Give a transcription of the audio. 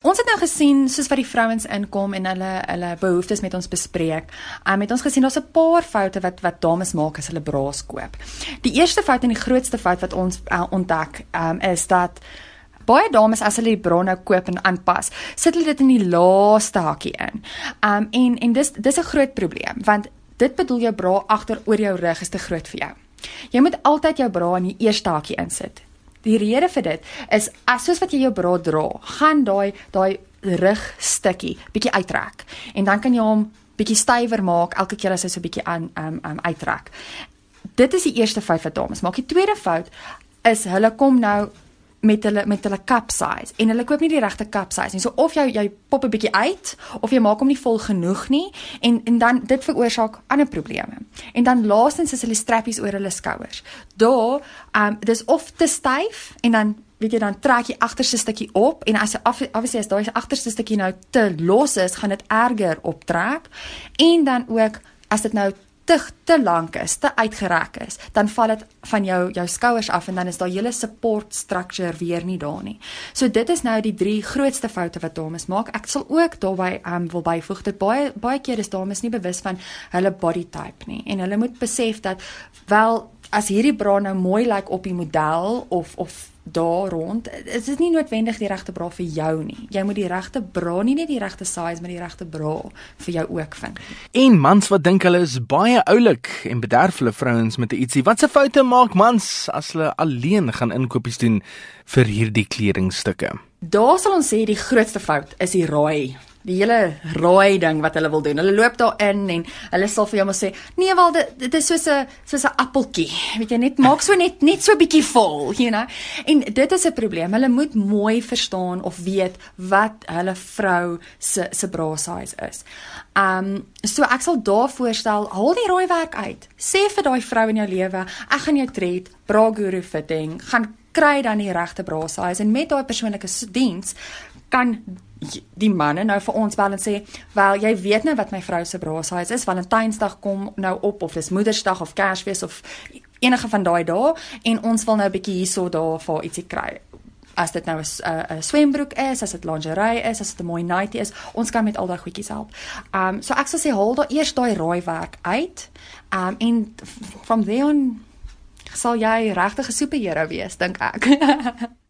Ons het nou gesien, soos wat die vrouens inkom en hulle behoeftes met ons bespreek, het ons gesien, daar's 'n paar foute wat dames maak as hulle bras koop. Die eerste fout en die grootste fout wat ons ontdek, is dat baie dames, as hulle die bra nou koop en aanpas, sit hulle dit in die laaste hakkie in. En dis 'n groot probleem, want dit bedoel jou bra agter oor jou rug is te groot vir jou. Jy moet altyd jou bra in die eerste hakkie insit. Die rede vir dit is, soos wat jy jou bra dra, gaan daai rugstukkie bietjie uittrek. En dan kan jy hom bietjie stywer maak elke keer as hy so bietjie uittrek. Dit is die eerste fout wat dames maak. Die tweede fout is, hulle kom nou met hulle cup size, en hulle koop nie die regte cup size nie. So of jy pop 'n bietjie uit, of jy maak hom nie vol genoeg nie, en dan dit veroorsaak ander probleme. En dan laastens is hulle strappies oor hulle skouers. Dis of te styf, en dan weet jy, dan trek jy agterste stukkie op, en as daai agterste stukkie nou te los is, gaan dit erger optrek, en dan ook, as dit nou te lank is, te uitgerek is, dan val dit van jou skouers af, en dan is daai hele support structure weer nie daar nie. So dit is nou die 3 grootste foute wat dames maak. Ek sal ook daarby wil byvoeg, dat baie keer is dames nie bewus van hulle body type nie, en hulle moet besef dat, wel, as hierdie bra nou mooi lyk op die model, of daar rond, is dit nie noodwendig die regte bra vir jou nie. Jy moet die regte bra, nie net die regte size, maar die regte bra vir jou ook vind. En mans wat dink hulle is baie oulik en bederf hulle vrouens met 'n ietsie. Wat se foute maak mans as hulle alleen gaan inkopies doen vir hierdie kledingstukke? Daar sal ons sê die grootste fout is die raai. Die hele raai ding wat hulle wil doen. Hulle loop daar in en hulle sal vir jou maar sê, nee wel, dit is soos 'n appeltjie. Weet jy, maak so net so bietjie vol, you know. En dit is 'n probleem. Hulle moet mooi verstaan of weet wat hulle vrou se bra size is. So ek sal daar voorstel, haal die raai werk uit. Sê vir daai vrou in jou lewe, ek gaan jou tred, bra guru fitting, gaan kry dan die regte bra size, en met daai persoonlike diens kan die manne nou vir ons bel en sê, wel, jy weet nou wat my vrou se bra size is, Valentynsdag kom nou op, of dis Moedersdag of Kersfees of enige van daai dae, en ons wil nou 'n bietjie hierso daar vir ietsie kry. As dit nou 'n swembroek is, as dit lingerie is, as dit 'n mooi nightie is, ons kan met al daai goedjies help. So ek sal sê, haal daar eers daai raaiwerk uit, en from there on sal jy regtig 'n superhero wees, dink ek.